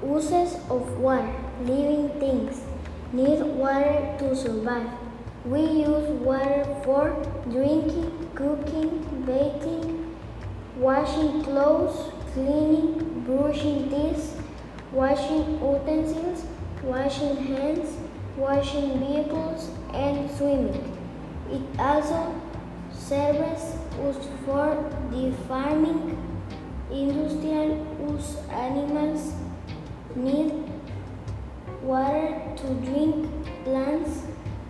Uses of water. Living things need water to survive. We use water for drinking, cooking, bathing, washing clothes, cleaning, brushing teeth, washing utensils, washing hands, washing vehicles, and swimming. It also serves us for the farming, industrial use. Animals need water to drink, plants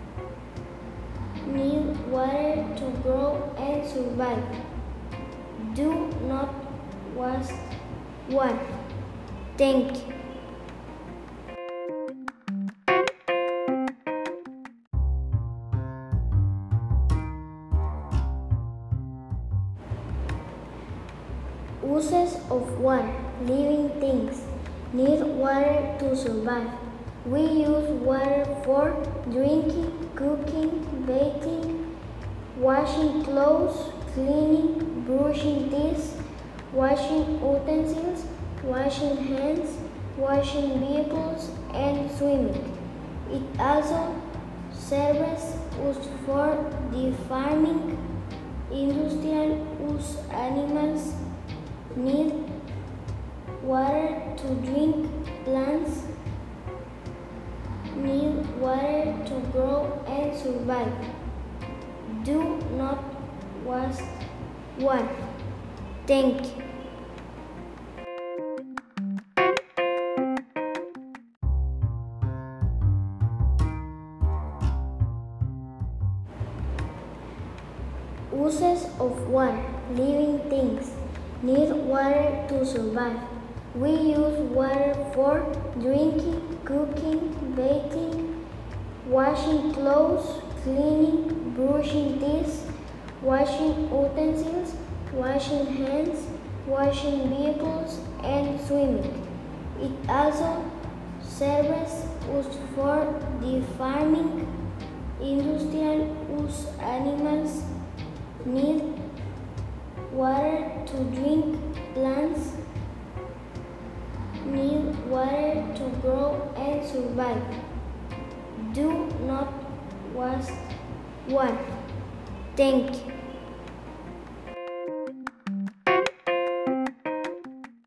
need water to grow and survive. Do not waste water. Thank you. Uses of water. Living things need water to survive. We use water for drinking, cooking, bathing, washing clothes, cleaning, brushing teeth, washing utensils, washing hands, washing vehicles, and swimming. It also serves us for the farming, industrial use. Animals need water to drink, plants need water to grow and survive. Do not waste water. Thank you. Uses of water. Living things need water to survive. We use water for drinking, cooking, bathing, washing clothes, cleaning, brushing teeth, washing utensils, washing hands, washing vehicles, and swimming. It also serves us for the farming, industrial use. Animals need water to drink, plants need water to grow and survive. Do not waste water. Thank you.